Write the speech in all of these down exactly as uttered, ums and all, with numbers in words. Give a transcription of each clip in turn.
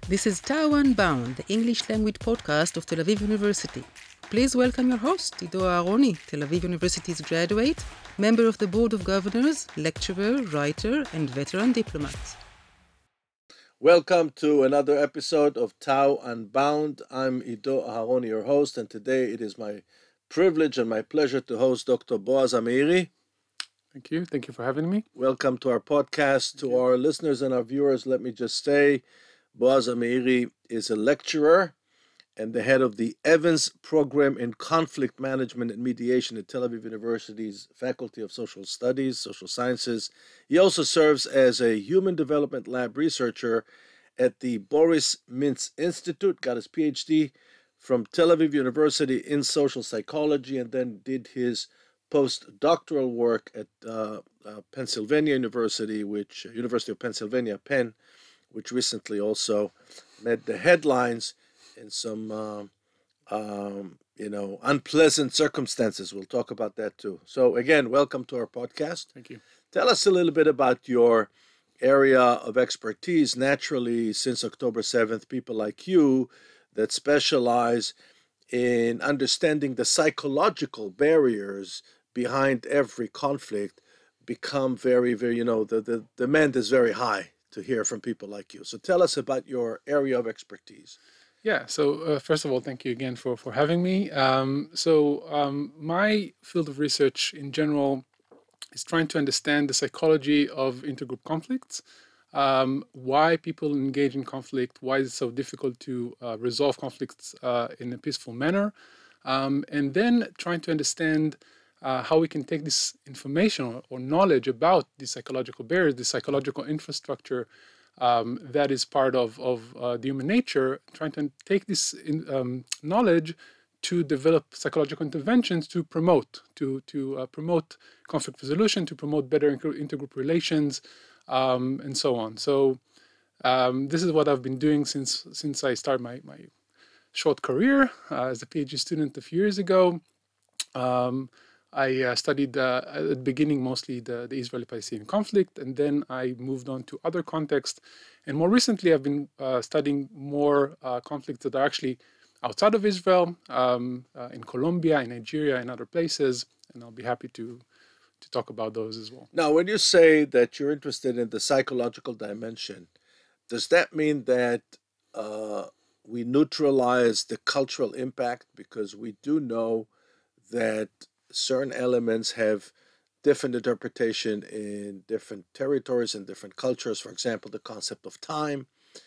This is Tao Unbound, the English language podcast of Tel Aviv University. Please welcome your host, Ido Aharoni, Tel Aviv University's graduate, member of the Board of Governors, lecturer, writer, and veteran diplomat. Welcome to another episode of Tao Unbound. I'm Ido Aharoni, your host, and today it is my privilege and my pleasure to host Doctor Boaz Ameiri. Thank you. Thank you for having me. Welcome to our podcast. Thank to you. our listeners and our viewers, let me just say, Boaz Ameiri is a lecturer and the head of the Evans Program in Conflict Management and Mediation at Tel Aviv University's Faculty of Social Studies, Social Sciences. He also serves as a Human Development Lab researcher at the Boris Mintz Institute, got his P H D from Tel Aviv University in social psychology, and then did his postdoctoral work at uh, uh, Pennsylvania University, which uh, University of Pennsylvania, Penn, which recently also made the headlines in some, uh, um, you know, unpleasant circumstances. We'll talk about that too. So again, welcome to our podcast. Thank you. Tell us a little bit about your area of expertise. Naturally, since October seventh, people like you that specialize in understanding the psychological barriers behind every conflict become very, very, you know, the, the demand is very high to hear from people like you. So tell us about your area of expertise. Yeah. So uh, first of all, thank you again for for having me. Um, so um, my field of research in general is trying to understand the psychology of intergroup conflicts. Um, why people engage in conflict? Why is it so difficult to uh, resolve conflicts uh, in a peaceful manner? Um, and then trying to understand uh, how we can take this information or, or knowledge about the psychological barriers, the psychological infrastructure um, that is part of, of uh, the human nature, trying to take this in, um, knowledge to develop psychological interventions to promote, to, to uh, promote conflict resolution, to promote better inter- intergroup relations, um, and so on. So um, this is what I've been doing since since I started my, my short career uh, as a PhD student a few years ago. Um, I uh, studied uh, at the beginning mostly the, the Israeli-Palestinian conflict, and then I moved on to other contexts. And more recently, I've been uh, studying more uh, conflicts that are actually outside of Israel, um, uh, in Colombia, in Nigeria, and other places. And I'll be happy to to talk about those as well. Now, when you say that you're interested in the psychological dimension, does that mean that uh, we neutralize the cultural impact? Because we do know that certain elements have different interpretation in different territories and different cultures. For example, the concept of time.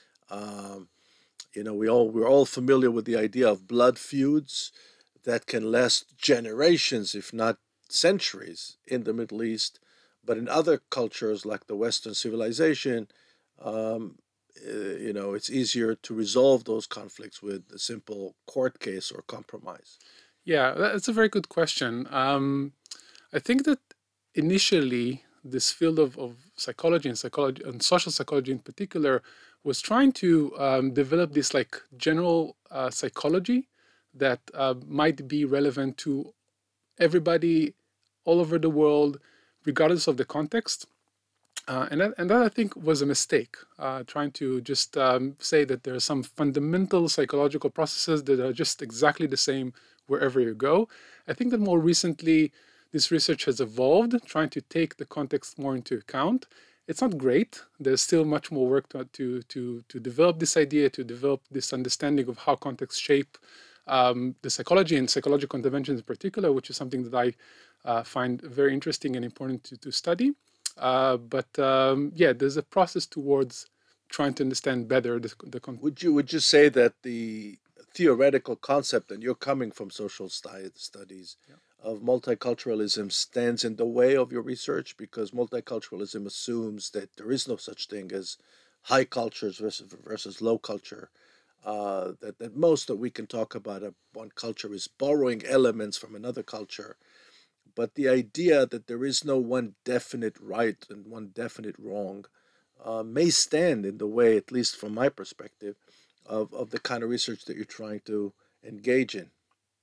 Um, you know, we all we're all familiar with the idea of blood feuds that can last generations, if not centuries, in the Middle East. But in other cultures, like the Western civilization, um, uh, you know, it's easier to resolve those conflicts with a simple court case or compromise. Yeah, that's a very good question. Um, I think that initially this field of, of psychology and psychology and social psychology in particular was trying to um, develop this like general uh, psychology that uh, might be relevant to everybody all over the world, regardless of the context. Uh, and that, and that I think was a mistake. Uh, trying to just um, say that there are some fundamental psychological processes that are just exactly the same wherever you go. I think that more recently this research has evolved, trying to take the context more into account. It's not great. There's still much more work to to to, to develop this idea, to develop this understanding of how contexts shape um, the psychology and psychological interventions in particular, which is something that I uh, find very interesting and important to, to study. Uh, but um, yeah, there's a process towards trying to understand better the, the context. Would you would you say that the theoretical concept, and you're coming from social stu- studies, Yeah. of multiculturalism stands in the way of your research? Because multiculturalism assumes that there is no such thing as high cultures versus versus low culture. Uh, that that most that we can talk about a, one culture is borrowing elements from another culture, but the idea that there is no one definite right and one definite wrong uh, may stand in the way, at least from my perspective, of, of the kind of research that you're trying to engage in.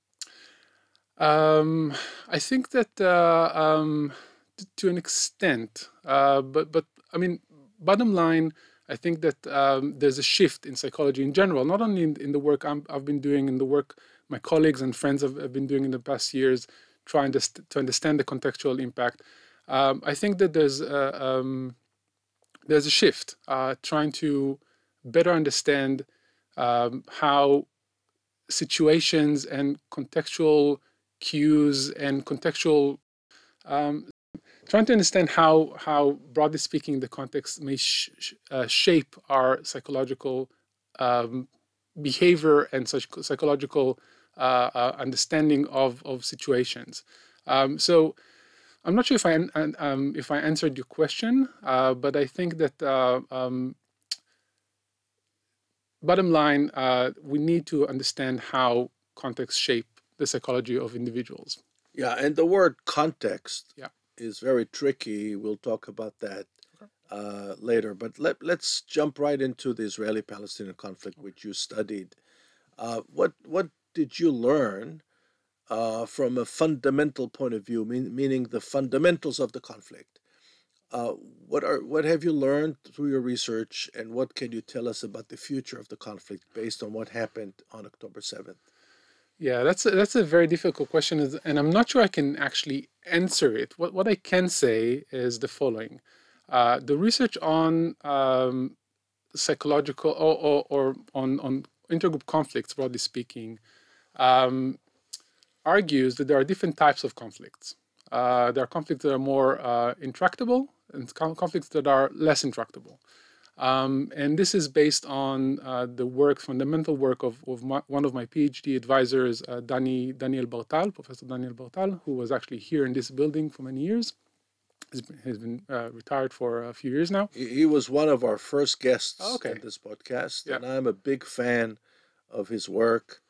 Um, I think that uh, um, t- to an extent, uh, but but I mean, bottom line, I think that um, there's a shift in psychology in general, not only in, in the work I'm, I've been doing, in the work my colleagues and friends have, have been doing in the past years, trying to, st- to understand the contextual impact. Um, I think that there's a, um, there's a shift, uh, trying to better understand um, how situations and contextual cues and contextual um, trying to understand how, how broadly speaking, the context may sh- sh- uh, shape our psychological um, behavior and such psychological uh, uh, understanding of, of situations. Um, so I'm not sure if I um, if I answered your question, uh, but I think that uh, um, bottom line, uh, we need to understand how context shape the psychology of individuals. Yeah, and the word context Yeah. is very tricky. We'll talk about that uh, later. But let, let's jump right into the Israeli-Palestinian conflict, which you studied. Uh, what what did you learn uh, from a fundamental point of view, mean, meaning the fundamentals of the conflict? Uh, what are what have you learned through your research, and what can you tell us about the future of the conflict based on what happened on October seventh? Yeah, that's a, that's a very difficult question, and I'm not sure I can actually answer it. What what I can say is the following: uh, the research on um, psychological or, or, or on on intergroup conflicts, broadly speaking, um, argues that there are different types of conflicts. Uh, there are conflicts that are more uh, intractable and conflicts that are less intractable. Um, and this is based on uh, the work, fundamental work of, of my, one of my PhD advisors, uh, Dani, Daniel Bartal, Professor Daniel Bartal, who was actually here in this building for many years. He's been, he's been uh, retired for a few years now. He, he was one of our first guests Oh, okay. in this podcast, Yeah. and I'm a big fan of his work.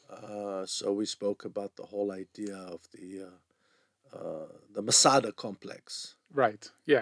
Uh, so we spoke about the whole idea of the uh, uh, the Masada complex. Right. Yeah.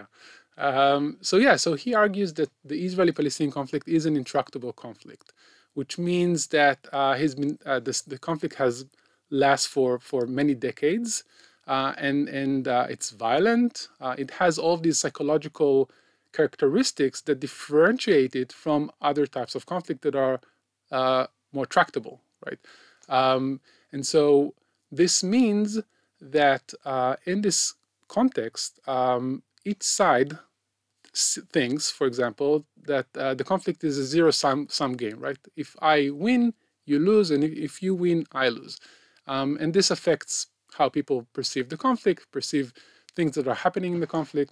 Um, so yeah. So he argues that the Israeli-Palestinian conflict is an intractable conflict, which means that uh, he's been uh, this, the conflict has lasts for for many decades, uh, and and uh, it's violent. Uh, it has all of these psychological characteristics that differentiate it from other types of conflict that are uh, more tractable, right? Um, and so this means that uh, in this context, um, each side thinks, for example, that uh, the conflict is a zero-sum sum game, right? If I win, you lose, and if you win, I lose. Um, and this affects how people perceive the conflict, perceive things that are happening in the conflict.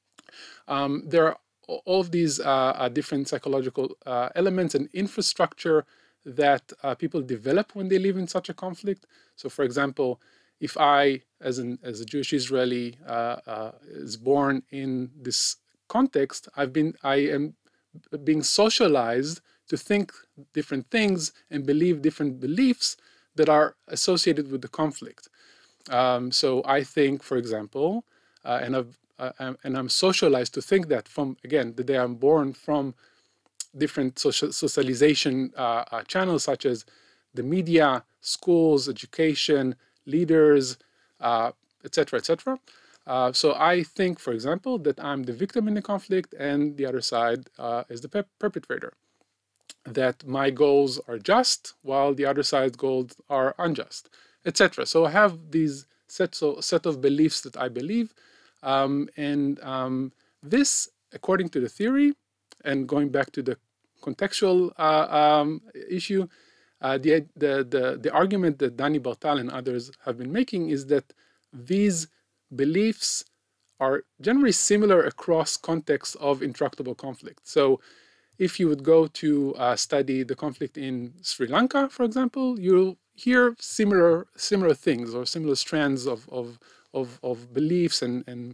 Um, there are all of these uh, uh, different psychological uh, elements and infrastructure that uh, people develop when they live in such a conflict. So, for example, if I, as an as a Jewish Israeli, uh, uh, is born in this context, I've been I am being socialized to think different things and believe different beliefs that are associated with the conflict. Um, so I think, for example, uh, and I've uh, and I'm socialized to think that from again the day I'm born from different social socialization uh, uh, channels such as the media, schools, education, leaders, uh, et cetera, et cetera. Uh, so I think, for example, that I'm the victim in the conflict and the other side uh, is the per- perpetrator. That my goals are just while the other side's goals are unjust, et cetera. So I have these sets of, set of beliefs that I believe, um, and um, this, according to the theory, and going back to the contextual uh, um, issue, uh, the, the, the, the argument that Dani Bartal and others have been making is that these beliefs are generally similar across contexts of intractable conflict. So if you would go to uh, study the conflict in Sri Lanka, for example, you'll hear similar similar things or similar strands of of, of, of beliefs and, and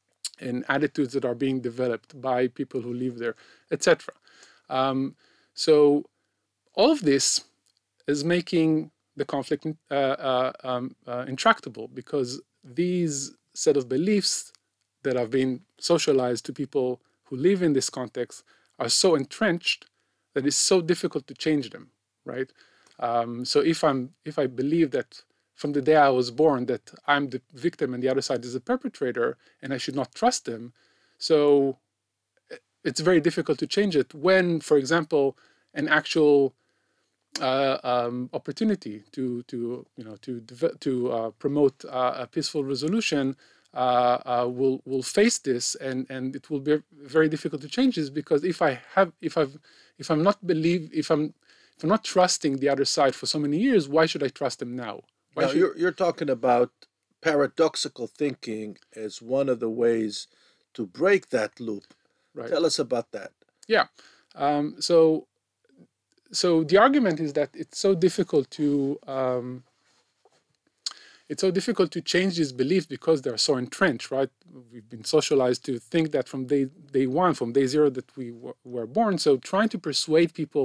and attitudes that are being developed by people who live there, et cetera. Um, so all of this is making the conflict uh, uh, um, uh, intractable because these set of beliefs that have been socialized to people who live in this context are so entrenched that it's so difficult to change them, right? Um, so if I'm if I believe that from the day I was born that I'm the victim and the other side is the perpetrator and I should not trust them, so it's very difficult to change it when, for example, an actual uh, um, opportunity to to you know to to uh, promote uh, a peaceful resolution uh, uh, will will face this, and and it will be very difficult to change this, because if I have if I've if I'm not believe if I'm if I'm not trusting the other side for so many years, why should I trust them now? Why Now, should... you're, you're talking about paradoxical thinking as one of the ways to break that loop. Right. Tell us about that. Yeah. Um, so so the argument is that it's so difficult to um, it's so difficult to change these beliefs because they're so entrenched, right? We've been socialized to think that from day day one, from day zero that we w- were born. So trying to persuade people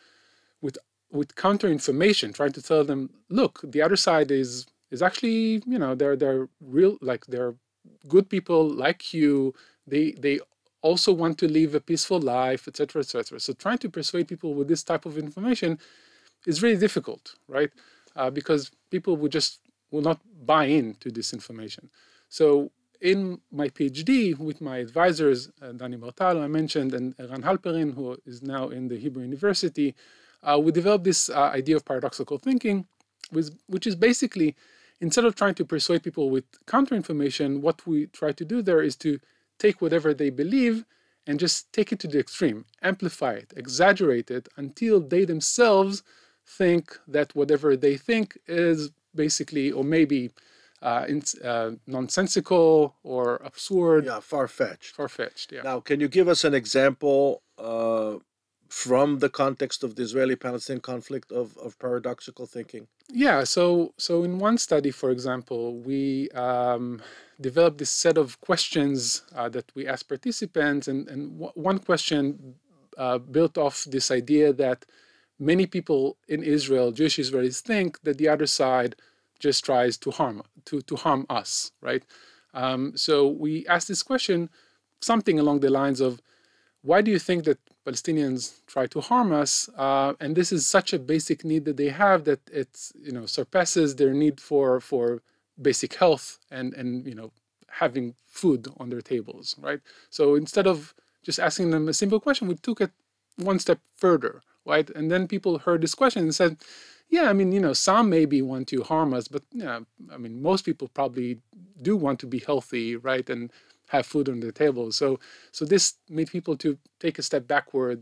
with with counter information, trying to tell them, look, the other side is is actually, you know, they're they're real, like they're good people like you. They they also want to live a peaceful life, et cetera, et cetera. So trying to persuade people with this type of information is really difficult, right? Uh, because people would just will not buy into this information. So in my PhD with my advisors, uh, Dani Bartalo, I mentioned, and Eran Halperin, who is now in the Hebrew University, uh, we developed this uh, idea of paradoxical thinking, which, which is basically, instead of trying to persuade people with counter information, what we try to do there is to take whatever they believe and just take it to the extreme, amplify it, exaggerate it until they themselves think that whatever they think is basically, or maybe uh, in, uh, nonsensical or absurd. Yeah, far-fetched. Far-fetched, yeah. Now, can you give us an example uh, from the context of the Israeli-Palestinian conflict of, of paradoxical thinking? Yeah, so so in one study, for example, we um, developed this set of questions uh, that we asked participants, and, and w- one question uh, built off this idea that many people in Israel, Jewish Israelis, think that the other side just tries to harm to, to harm us, right? Um, so we asked this question, something along the lines of, why do you think that Palestinians try to harm us? Uh, and this is such a basic need that they have that it's, you know, surpasses their need for for basic health and and you know having food on their tables, right? So instead of just asking them a simple question, we took it one step further, right? And then people heard this question and said, yeah, I mean, you know, some maybe want to harm us, but yeah, I mean, most people probably do want to be healthy, right? And have food on their table. So so this made people to take a step backward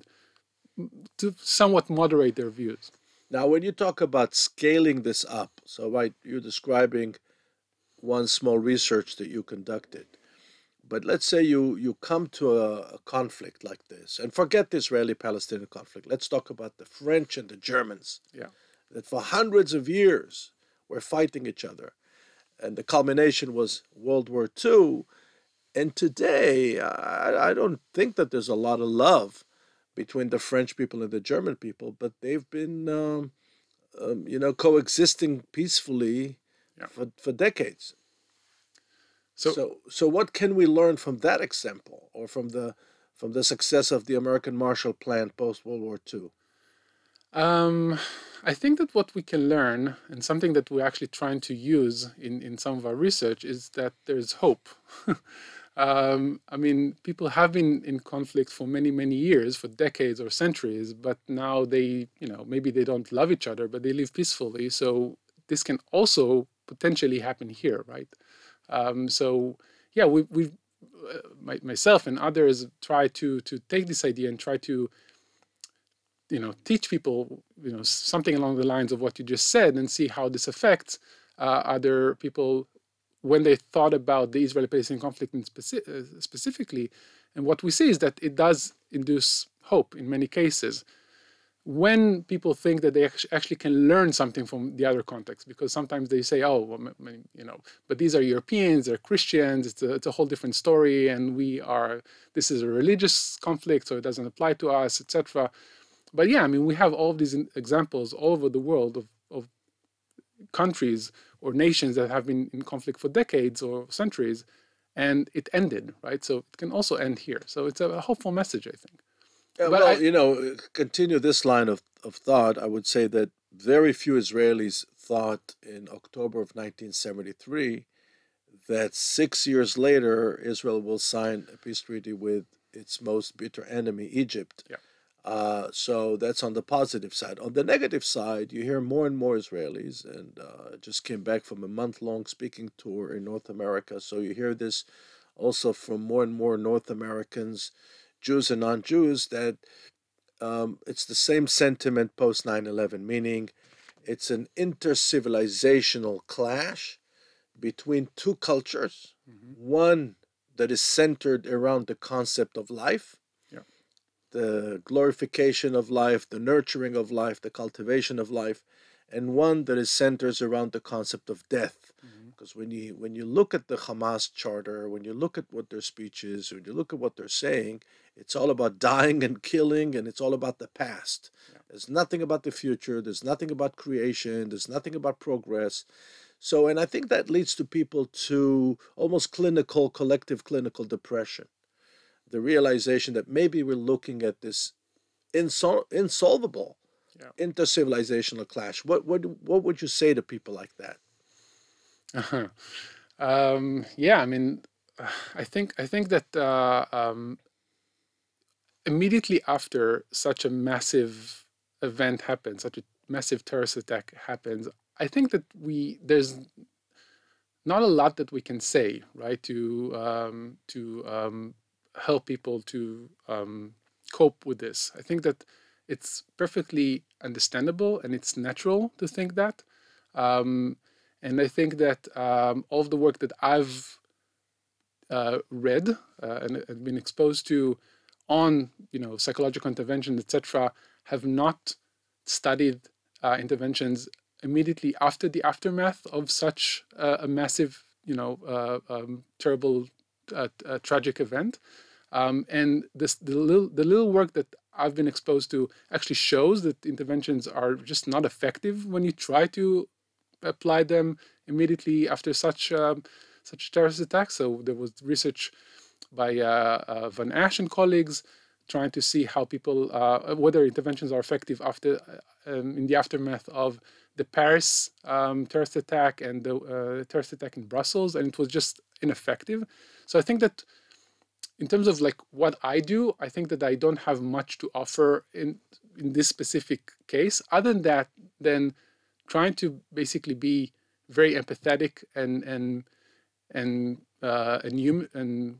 to somewhat moderate their views. Now, when you talk about scaling this up, so right, you're describing one small research that you conducted. But let's say you, you come to a, a conflict like this, and forget the Israeli-Palestinian conflict. Let's talk about the French and the Germans, Yeah. that for hundreds of years were fighting each other. And the culmination was World War Two. And today, I, I don't think that there's a lot of love between the French people and the German people, but they've been, um, um, you know, coexisting peacefully Yeah. for, for decades. So, So, so what can we learn from that example, or from the from the success of the American Marshall Plan post World War Two? um, I think that what we can learn, and something that we're actually trying to use in, in some of our research, is that there's hope. um, I mean, people have been in conflict for many, many years, for decades or centuries, but now they, you know, maybe they don't love each other, but they live peacefully. So this can also potentially happen here, right? Um, so yeah, we we uh, my, myself and others try to to take this idea and try to, you know, teach people, you know, something along the lines of what you just said, and see how this affects uh, other people when they thought about the Israeli-Palestinian conflict in speci- uh, specifically. And what we see is that it does induce hope in many cases, when people think that they actually can learn something from the other context, because sometimes they say, oh, well, you know, but these are Europeans, they're Christians, it's a, it's a whole different story, and we are, this is a religious conflict, so it doesn't apply to us, et cetera. But yeah, I mean, we have all of these examples all over the world of, of countries or nations that have been in conflict for decades or centuries, and it ended, right? So it can also end here. So it's a hopeful message, I think. Uh, But well, I- you know, continue this line of, of thought. I would say that very few Israelis thought in October of nineteen seventy-three that six years later Israel will sign a peace treaty with its most bitter enemy, Egypt. Yeah. Uh, so that's on the positive side. On the negative side, you hear more and more Israelis, and uh, just came back from a month-long speaking tour in North America. So you hear this also from more and more North Americans, Jews and non-Jews, that um, it's the same sentiment post nine eleven, meaning it's an intercivilizational clash between two cultures, Mm-hmm. one that is centered around the concept of life, Yeah. the glorification of life, the nurturing of life, the cultivation of life, and one that is centers around the concept of death. Mm-hmm. Because when you when you look at the Hamas charter, when you look at what their speech is, when you look at what they're saying, it's all about dying and killing, and it's all about the past. Yeah. There's nothing about the future. There's nothing about creation. There's nothing about progress. So, and I think that leads to people to almost clinical, collective clinical depression. The realization that maybe we're looking at this insol- insolvable Yeah. intercivilizational clash. What, what, what would you say to people like that? Uh-huh. Um, yeah, I mean, I think I think that uh, um, immediately after such a massive event happens, such a massive terrorist attack happens, I think that we there's not a lot that we can say, right, to um, to um, help people to um, cope with this. I think that it's perfectly understandable and it's natural to think that. Um, and I think that um, all of the work that I've uh, read uh, and, and been exposed to on, you know, psychological intervention, et cetera, have not studied uh, interventions immediately after the aftermath of such uh, a massive, you know, uh, um, terrible, uh, uh, tragic event. Um, and this the little the little work that I've been exposed to actually shows that interventions are just not effective when you try to apply them immediately after such um, such terrorist attacks. So there was research by uh, uh, Van Ash and colleagues trying to see how people uh, whether interventions are effective after um, in the aftermath of the Paris um, terrorist attack and the uh, terrorist attack in Brussels, and it was just ineffective. So I think that in terms of like what I do, I think that I don't have much to offer in in this specific case, other than that, than trying to basically be very empathetic and and and uh, and human and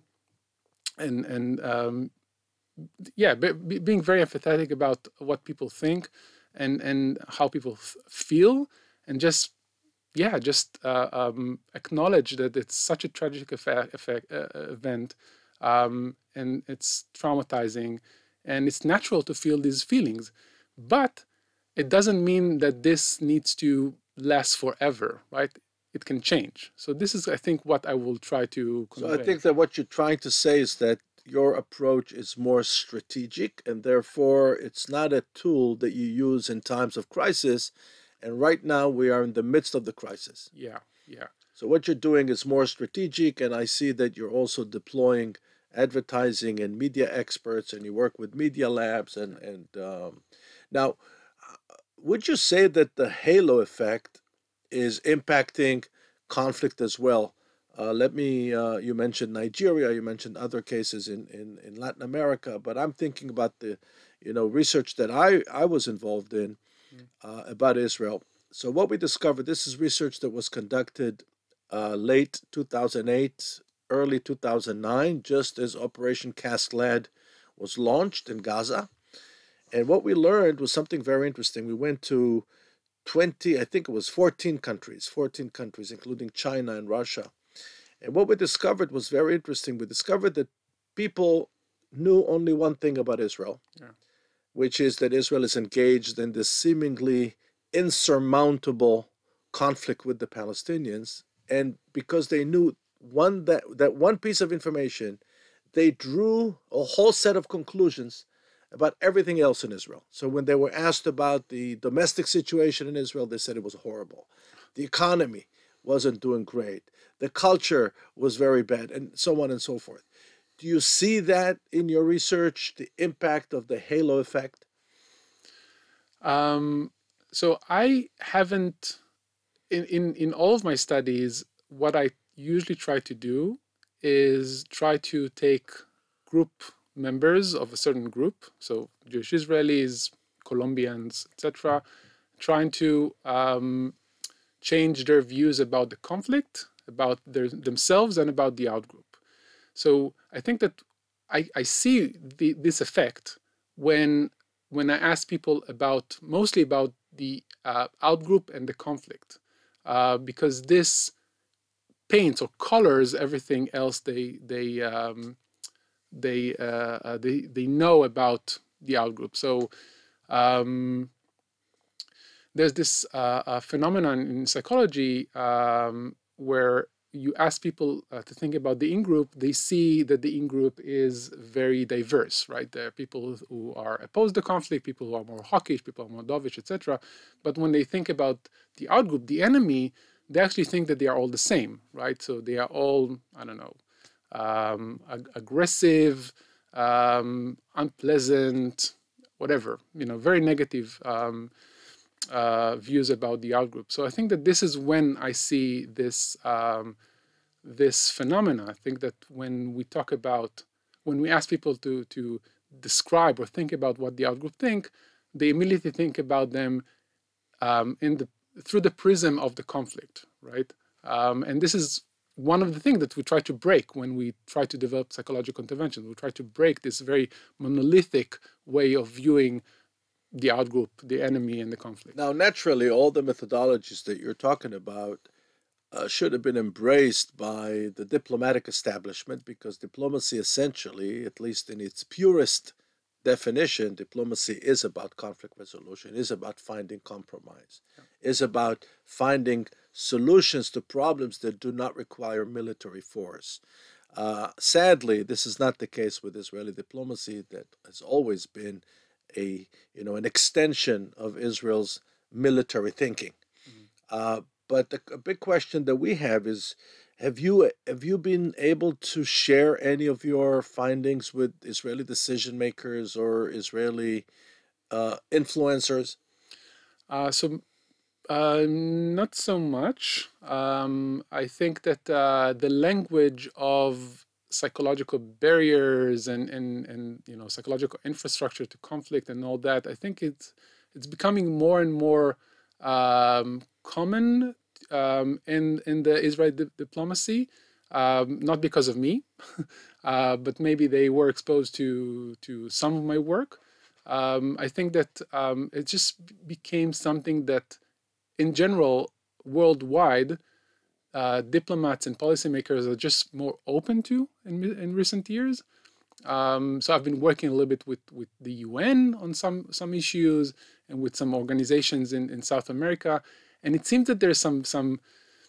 and and um, yeah, be, being very empathetic about what people think and and how people f- feel, and just yeah, just uh, um, acknowledge that it's such a tragic effect, effect uh, event, um, and it's traumatizing, and it's natural to feel these feelings, but it doesn't mean that this needs to last forever, right? It can change. So this is, I think, what I will try to So I convey. think that what you're trying to say is that your approach is more strategic, and therefore it's not a tool that you use in times of crisis. And right now we are in the midst of the crisis. Yeah, yeah, So what you're doing is more strategic, and I see that you're also deploying advertising and media experts, and you work with media labs. And and um, now, uh, would you say that the halo effect is impacting conflict as well? Uh, let me. Uh, you mentioned Nigeria. You mentioned other cases in, in, in Latin America, but I'm thinking about the, you know, research that I I was involved in mm, uh, about Israel. So what we discovered, this is research that was conducted uh, late two thousand eight, early two thousand nine, just as Operation Cast Lead was launched in Gaza. And what we learned was something very interesting. We went to twenty, I think it was fourteen countries, fourteen countries, including China and Russia. And what we discovered was very interesting. We discovered that people knew only one thing about Israel, yeah, which is that Israel is engaged in this seemingly insurmountable conflict with the Palestinians. And because they knew one that, that one piece of information, they drew a whole set of conclusions about everything else in Israel. So when they were asked about the domestic situation in Israel, they said it was horrible. The economy wasn't doing great. The culture was very bad, and so on and so forth. Do you see that in your research, the impact of the halo effect? Um, so I haven't in, in in all of my studies. What I usually try to do is try to take group members of a certain group, so Jewish Israelis, Colombians, et cetera, trying to um, change their views about the conflict, about their, themselves, and about the outgroup. So I think that I, I see the, this effect when when I ask people about mostly about the uh, outgroup and the conflict, uh, because this paints or colors everything else they they um, they, uh, uh, they they know about the outgroup. So um, there's this uh, uh, phenomenon in psychology um, where you ask people uh, to think about the in-group, they see that the in-group is very diverse, right? There are people who are opposed to conflict, people who are more hawkish, people who are more dovish, et cetera. But when they think about the outgroup, the enemy, they actually think that they are all the same, right? So they are all, I don't know, um, ag- aggressive, um, unpleasant, whatever, you know, very negative um, uh, views about the outgroup. So I think that this is when I see this um, this phenomena. I think that when we talk about, when we ask people to to describe or think about what the outgroup think, they immediately think about them um, in the through the prism of the conflict, right? Um, and this is one of the things that we try to break when we try to develop psychological interventions. We try to break this very monolithic way of viewing the outgroup, the enemy, and the conflict. Now, naturally, all the methodologies that you're talking about uh, should have been embraced by the diplomatic establishment because diplomacy, essentially, at least in its purest definition, diplomacy is about conflict resolution, is about finding compromise, yeah. is about finding solutions to problems that do not require military force. Uh, sadly, this is not the case with Israeli diplomacy that has always been a you know an extension of Israel's military thinking. Mm-hmm. Uh, but the, a big question that we have is: Have you have you been able to share any of your findings with Israeli decision makers or Israeli uh, influencers? Uh, so uh, not so much. Um, I think that uh, the language of psychological barriers and, and, and you know psychological infrastructure to conflict and all that, I think it's it's becoming more and more um, common um, in in the Israeli di- diplomacy. Um, not because of me, uh, but maybe they were exposed to to some of my work. Um, I think that um, it just became something that, in general, worldwide, uh, diplomats and policymakers are just more open to in, in recent years. Um, so I've been working a little bit with, with the U N on some some issues and with some organizations in, in South America, and it seems that there's some some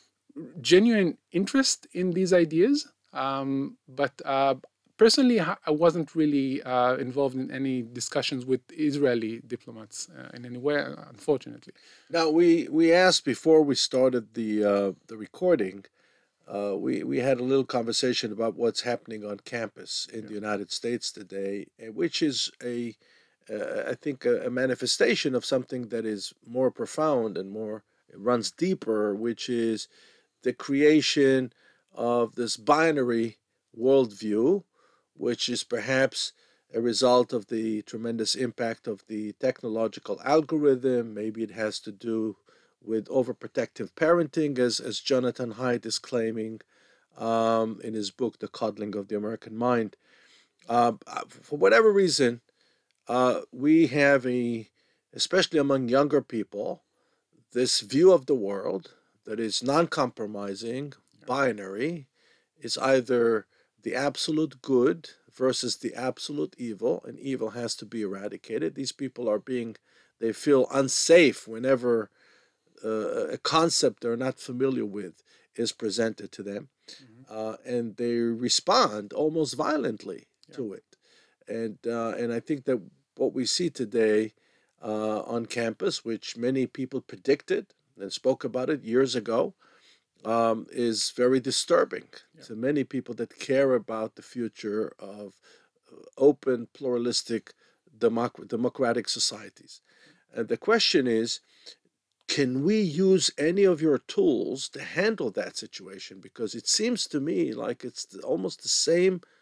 genuine interest in these ideas. Um, but uh, personally, I wasn't really uh, involved in any discussions with Israeli diplomats uh, in any way, unfortunately. Now, we we asked before we started the uh, the recording. Uh, we we had a little conversation about what's happening on campus in yeah. the United States today, which is a uh, I think a, a manifestation of something that is more profound and more it runs deeper, which is the creation of this binary worldview, which is perhaps a result of the tremendous impact of the technological algorithm. Maybe it has to do with overprotective parenting, as, as Jonathan Haidt is claiming um, in his book, The Coddling of the American Mind. Uh, for whatever reason, uh, we have a, especially among younger people, this view of the world that is non-compromising, binary, is either the absolute good versus the absolute evil, and evil has to be eradicated. These people are being, they feel unsafe whenever uh, a concept they're not familiar with is presented to them, mm-hmm. uh, and they respond almost violently yeah. to it. And uh, and I think that what we see today uh, on campus, which many people predicted and spoke about it years ago, um, is very disturbing yeah. to many people that care about the future of open, pluralistic, democ- democratic societies. And the question is, can we use any of your tools to handle that situation? Because it seems to me like it's almost the same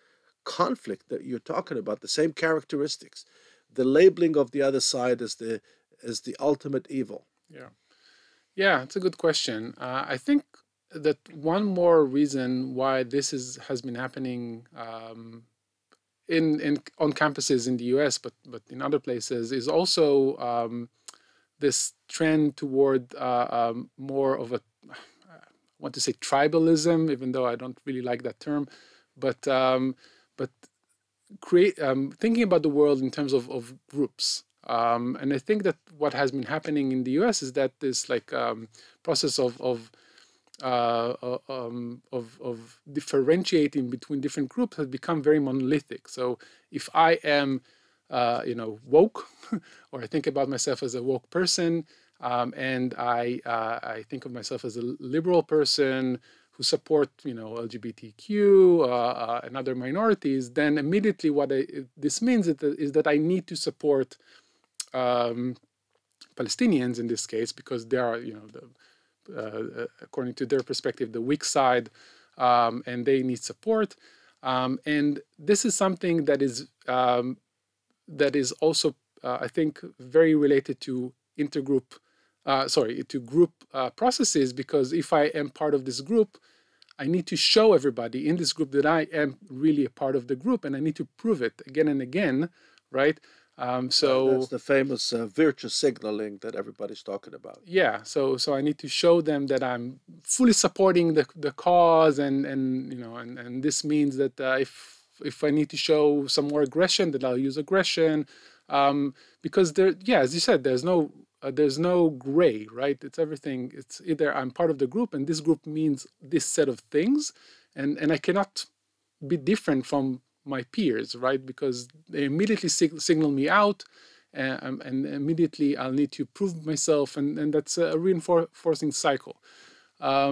conflict that you're talking about, the same characteristics, the labeling of the other side as the as the ultimate evil? Yeah. Yeah, it's a good question. Uh, I think that one more reason why this is has been happening um, in in on campuses in the U S, but but in other places, is also um, this trend toward uh, um, more of a, I want to say tribalism, even though I don't really like that term, but um, but create um, thinking about the world in terms of, of groups. Um, and I think that what has been happening in the U S is that this like um, process of of, uh, uh, um, of of differentiating between different groups has become very monolithic. So if I am uh, you know woke, or I think about myself as a woke person, um, and I uh, I think of myself as a liberal person who support you know L G B T Q uh, uh, and other minorities, then immediately what I, this means is that, is that I need to support um, Palestinians in this case, because they are you know the, uh, according to their perspective the weak side, um, and they need support. Um, and this is something that is um, that is also uh, I think very related to intergroup. Uh, sorry, to group uh, processes, because if I am part of this group, I need to show everybody in this group that I am really a part of the group, and I need to prove it again and again, right? Um, so Right, that's the famous uh, virtue signaling that everybody's talking about. yeah, so so I need to show them that I'm fully supporting the the cause, and and you know, and and this means that uh, if if I need to show some more aggression, that I'll use aggression, um, because there, yeah, as you said, there's no uh, there's no gray, right? It's everything. It's either I'm part of the group, and this group means this set of things, and and I cannot be different from my peers, right? Because they immediately sig- signal me out, uh, and immediately I'll need to prove myself, and, and that's a reinforcing cycle. Um,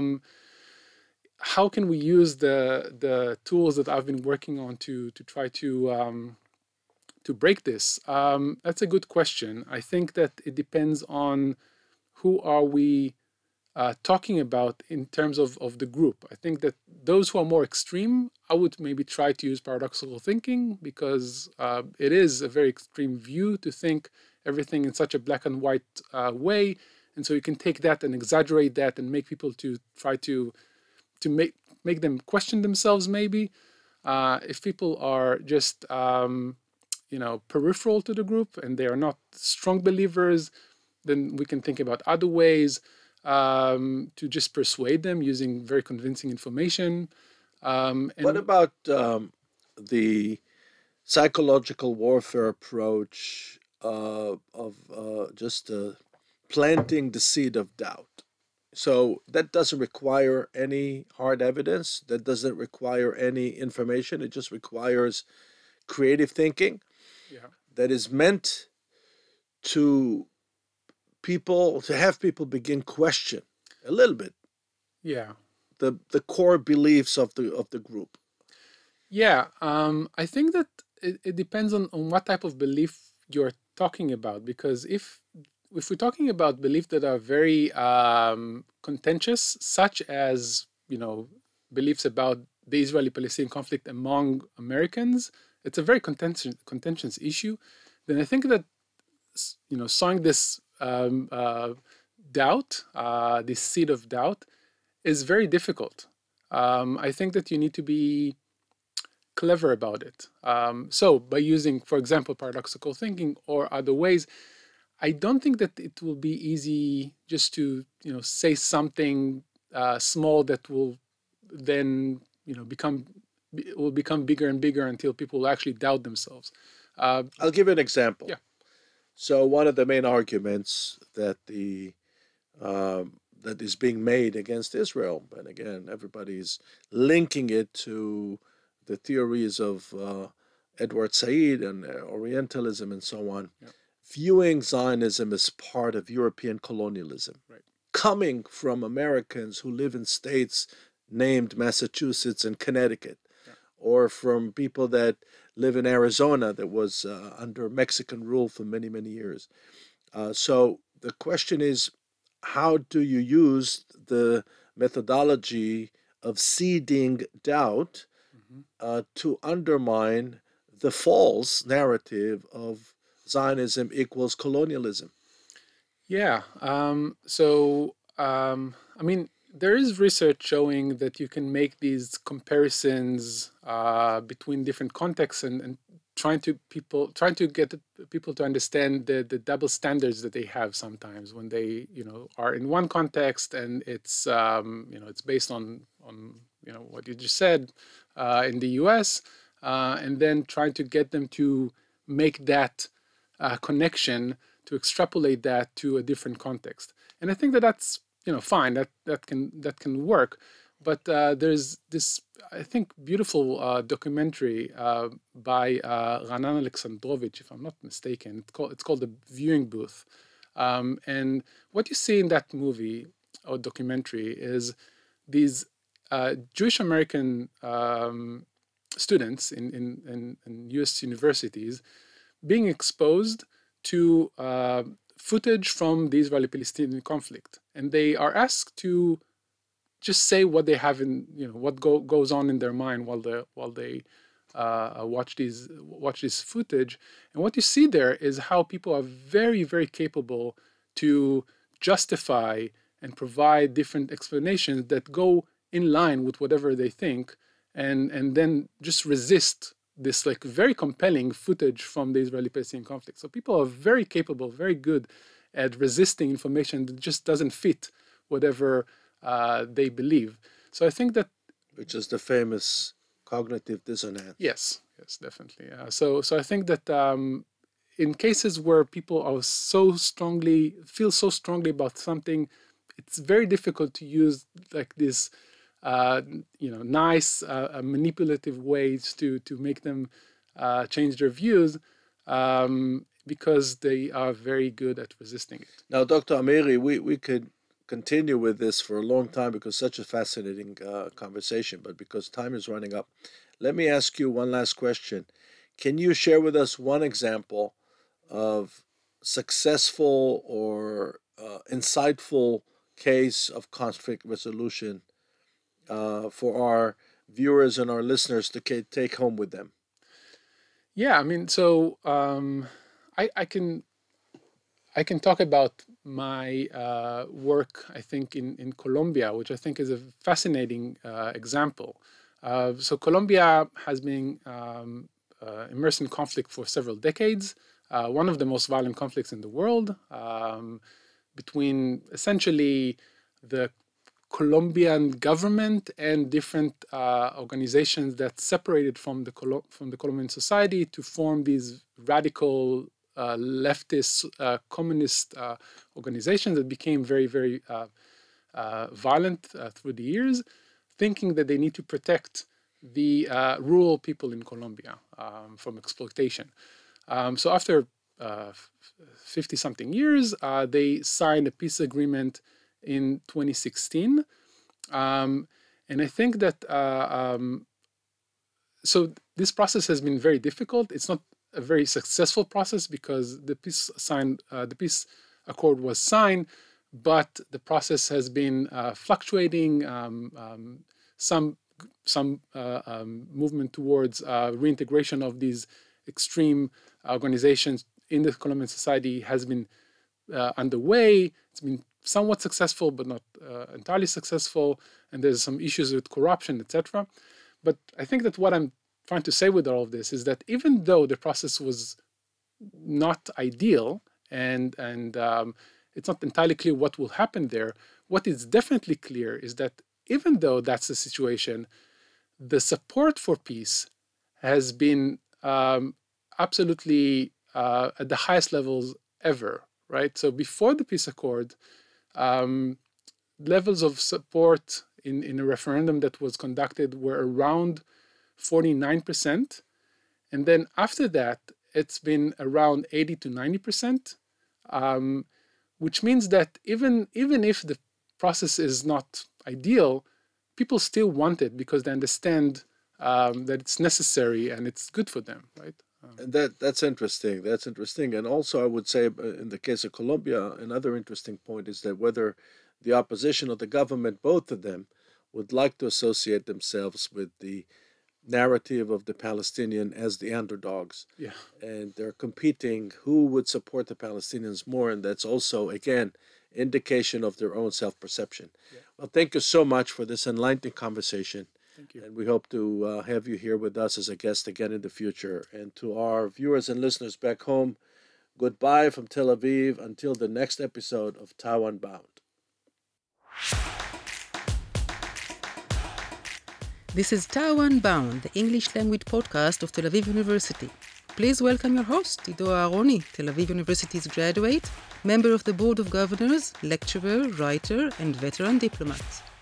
how can we use the the tools that I've been working on to to try to um, to break this? Um, that's a good question. I think that it depends on who are we uh, talking about in terms of, of the group. I think that those who are more extreme, I would maybe try to use paradoxical thinking, because uh, it is a very extreme view to think everything in such a black and white uh, way. And so you can take that and exaggerate that and make people to try to to make make them question themselves maybe. Uh, if people are just um, you know peripheral to the group and they are not strong believers, then we can think about other ways um, to just persuade them using very convincing information. Um, and What about um, the psychological warfare approach uh, of uh, just uh, planting the seed of doubt? So that doesn't require any hard evidence. That doesn't require any information. It just requires creative thinking yeah, that is meant to people to have people begin question a little bit yeah, the the core beliefs of the of the group. yeah. Um, I think that it, it depends on, on what type of belief you're talking about, because if if we're talking about beliefs that are very um, contentious, such as you know beliefs about the Israeli-Palestinian conflict among Americans, it's a very contentious contentious issue. Then I think that you know sowing this um, uh, doubt, uh, this seed of doubt, is very difficult. Um, I think that you need to be clever about it. Um, so by using, for example, paradoxical thinking or other ways, I don't think that it will be easy just to you know say something uh, small that will then you know become will become bigger and bigger until people will actually doubt themselves. Uh, I'll give you an example. yeah, So one of the main arguments that the um, that is being made against Israel, and again, everybody's linking it to the theories of uh, Edward Said and uh, Orientalism and so on, yeah, viewing Zionism as part of European colonialism, right, coming from Americans who live in states named Massachusetts and Connecticut, yeah, or from people that live in Arizona that was uh, under Mexican rule for many, many years. Uh, so the question is, how do you use the methodology of seeding doubt Mhm. uh, to undermine the false narrative of Zionism equals colonialism. Yeah. Um, so, um, I mean, there is research showing that you can make these comparisons uh, between different contexts and, and trying to people trying to get the people to understand the, the double standards that they have sometimes when they you know are in one context and it's um, you know it's based on on you know what you just said uh, in the U S uh, and then trying to get them to make that uh, connection to extrapolate that to a different context. And I think that that's you know fine. That that can that can work. But uh, there's this I think beautiful uh, documentary uh, by uh, Ranan Alexandrovich, if I'm not mistaken. It's called it's called The Viewing Booth. Um, and what you see in that movie or documentary is these uh, Jewish American um, students in, in, in, in U S universities being exposed to uh, footage from the Israeli-Palestinian conflict, and they are asked to just say what they have in, you know, what go, goes on in their mind while they while they uh, watch these watch this footage. And what you see there is how people are very very capable to justify and provide different explanations that go in line with whatever they think, and and then just resist this like very compelling footage from the Israeli-Palestinian conflict. So people are very capable, very good at resisting information that just doesn't fit whatever uh, they believe. So I think that Which is the famous cognitive dissonance. yes, yes, definitely. Uh, so so I think that um, in cases where people are so strongly feel so strongly about something, it's very difficult to use like this, uh, you know, nice uh, uh, manipulative ways to to make them uh, change their views. Um, because they are very good at resisting it. Now, Doctor Amiri, we, we could continue with this for a long time because such a fascinating uh, conversation, but because time is running up, let me ask you one last question. Can you share with us one example of successful or uh, insightful case of conflict resolution uh, for our viewers and our listeners to ca- take home with them? Yeah, I mean, so um, I, I can I can talk about my uh, work, I think, in, in Colombia, which I think is a fascinating uh, example. Uh, so, Colombia has been um, uh, immersed in conflict for several decades, uh, one of the most violent conflicts in the world, um, between essentially the Colombian government and different uh, organizations that separated from the Colo- from the Colombian society to form these radical uh, leftist uh, communist uh, organizations that became very very uh, uh, violent uh, through the years, thinking that they need to protect the uh, rural people in Colombia um, from exploitation. Um, so after uh, fifty something years, uh, they signed a peace agreement in twenty sixteen. Um, and I think that uh, um, so this process has been very difficult. It's not a very successful process because the peace signed, uh, the peace accord was signed, but the process has been uh, fluctuating. Um, um, some some uh, um, movement towards uh, reintegration of these extreme organizations in the Colombian society has been uh, underway. It's been somewhat successful, but not uh, entirely successful. And there's some issues with corruption, et cetera. But I think that what I'm trying to say with all of this is that even though the process was not ideal and and um, it's not entirely clear what will happen there, what is definitely clear is that even though that's the situation, the support for peace has been um, absolutely uh, at the highest levels ever, right? So before the peace accord, um, levels of support in, in a referendum that was conducted were around forty-nine percent. And then after that, it's been around eighty to ninety percent, um, which means that even, even if the process is not ideal, people still want it because they understand um, that it's necessary and it's good for them, right? Um, And that that's interesting. That's interesting. And also, I would say, uh, in the case of Colombia, another interesting point is that whether the opposition or the government, both of them, would like to associate themselves with the narrative of the Palestinian as the underdogs. Yeah. And they're competing who would support the Palestinians more. And that's also, again, indication of their own self-perception. Yeah. Well, thank you so much for this enlightening conversation. Thank you. And we hope to uh, have you here with us as a guest again in the future. And to our viewers and listeners back home, goodbye from Tel Aviv until the next episode of Taiwan Bound. This is Taiwan Bound, the English language podcast of Tel Aviv University. Please welcome your host, Ido Aharoni, Tel Aviv University's graduate, member of the Board of Governors, lecturer, writer, and veteran diplomat.